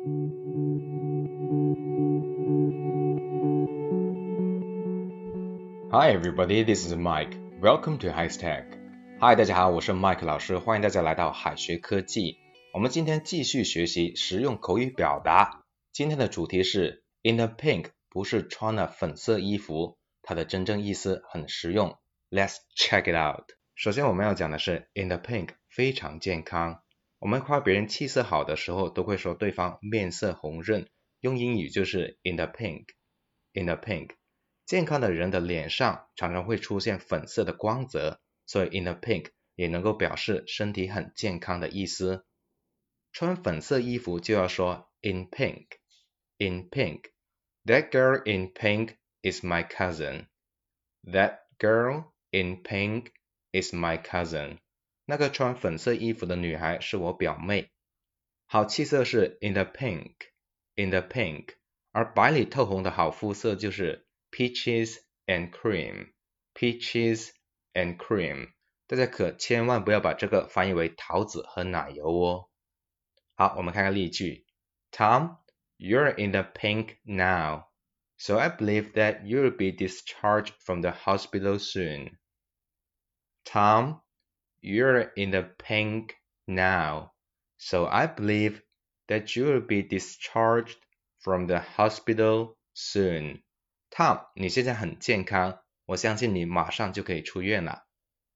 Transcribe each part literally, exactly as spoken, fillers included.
Hi everybody, this is Mike. Welcome to HighTech. Hi, 大家好，我是 Mike 老师，欢迎大家来到海学科技。我们今天继续学习实用口语表达。今天的主题是 In the pink， 不是穿了粉色衣服，它的真正意思很实用。Let's check it out. 首先我们要讲的是 In the pink， 非常健康。我们夸别人气色好的时候，都会说对方面色红润，用英语就是 In the pink. In the pink。健康的人的脸上常常会出现粉色的光泽，所以 in the pink 也能够表示身体很健康的意思。穿粉色衣服就要说 in pink, in pink. That girl in pink is my cousin. That girl in pink is my cousin. 那个穿粉色衣服的女孩是我表妹。好气色是 in the pink, in the pink. 而白里透红的好肤色就是Peaches and cream, peaches and cream. 大家可千万不要把这个翻译为桃子和奶油哦。好，我们看看例句。Tom, you're in the pink now, so I believe that you'll be discharged from the hospital soon. Tom, you're in the pink now, so I believe that you'll be discharged from the hospital soon.Tom， 你现在很健康，我相信你马上就可以出院了。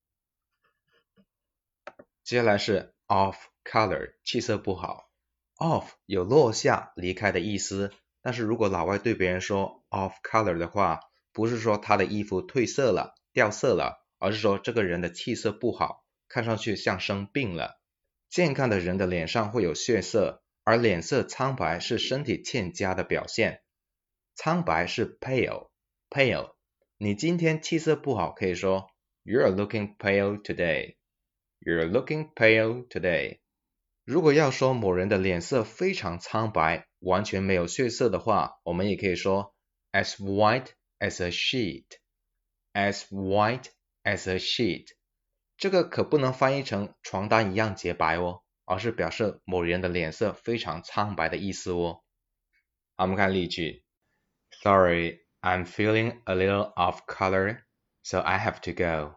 接下来是 off color， 气色不好。off 有落下、离开的意思，但是如果老外对别人说 off color 的话，不是说他的衣服褪色了、掉色了，而是说这个人的气色不好，看上去像生病了。健康的人的脸上会有血色，而脸色苍白是身体欠佳的表现。苍白是 pale, pale. 你今天气色不好，可以说 You're looking pale today. You're looking pale today. 如果要说某人的脸色非常苍白，完全没有血色的话，我们也可以说 as white as a sheet. As white as a sheet. 这个可不能翻译成床单一样洁白哦，而是表示某人的脸色非常苍白的意思哦。好，我们看例句。Sorry, I'm feeling a little off color, so I have to go.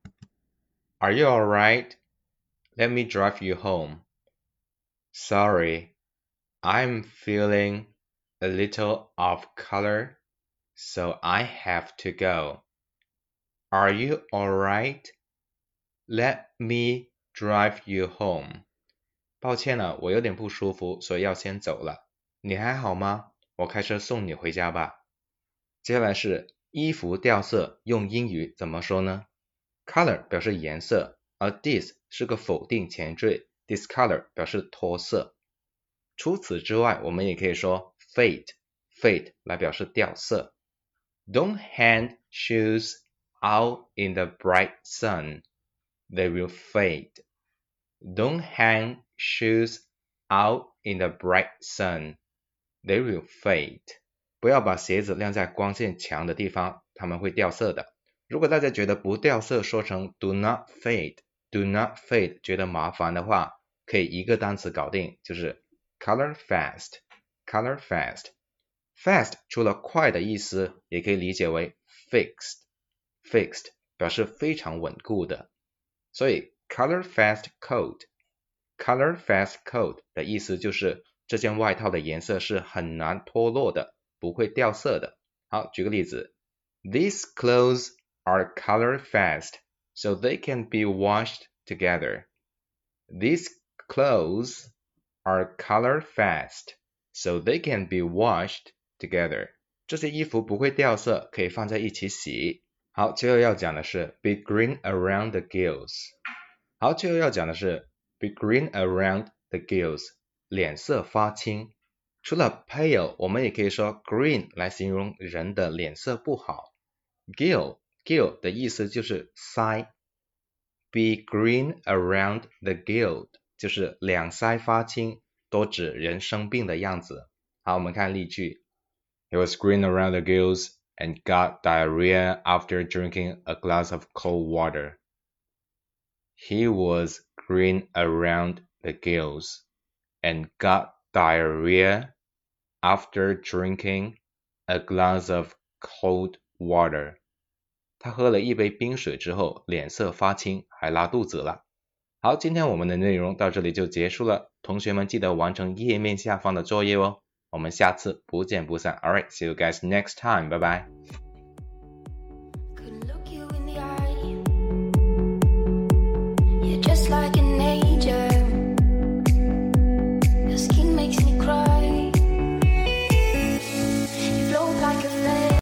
Are you alright? Let me drive you home. Sorry, I'm feeling a little off color, so I have to go. Are you alright? Let me drive you home. 抱歉了，我有点不舒服，所以要先走了。你还好吗？我开车送你回家吧。接下来是衣服掉色，用英语怎么说呢？ Color 表示颜色，而 dis 是个否定前缀， discolor 表示脱色。除此之外，我们也可以说 fade, fade 来表示掉色。Don't hang shoes out in the bright sun. They will fade. Don't hang shoes out in the bright sun. They will fade. 不要把鞋子晾在光线强的地方，它们会掉色的。如果大家觉得不掉色说成 do not fade, do not fade 觉得麻烦的话，可以一个单词搞定，就是 color fast, color fast. Fast 除了快的意思，也可以理解为 fixed, fixed 表示非常稳固的。所以 color fast coat, color fast coat 的意思就是这件外套的颜色是很难脱落的，不会掉色的。好，举个例子。These clothes are color fast, so they can be washed together. These clothes are color fast, so they can be washed together. 这些衣服不会掉色，可以放在一起洗。好，最后要讲的是 be green around the gills. 好，最后要讲的是 be green around the gills. 脸色发青。除了 pale， 我们也可以说 green 来形容人的脸色不好。Gill, gill 的意思就是腮。Be green around the gill 就是两腮发青，多指人生病的样子。好，我们看例句。He was green around the gills and got diarrhea after drinking a glass of cold water. He was green around the gills and got diarrhea after drinking a glass of cold water. 他喝了一杯冰水之后脸色发青，还拉肚子了。好，今天我们的内容到这里就结束了，同学们记得完成页面下方的作业哦。我们下次不见不散。Alright, see you guys next time. Bye bye.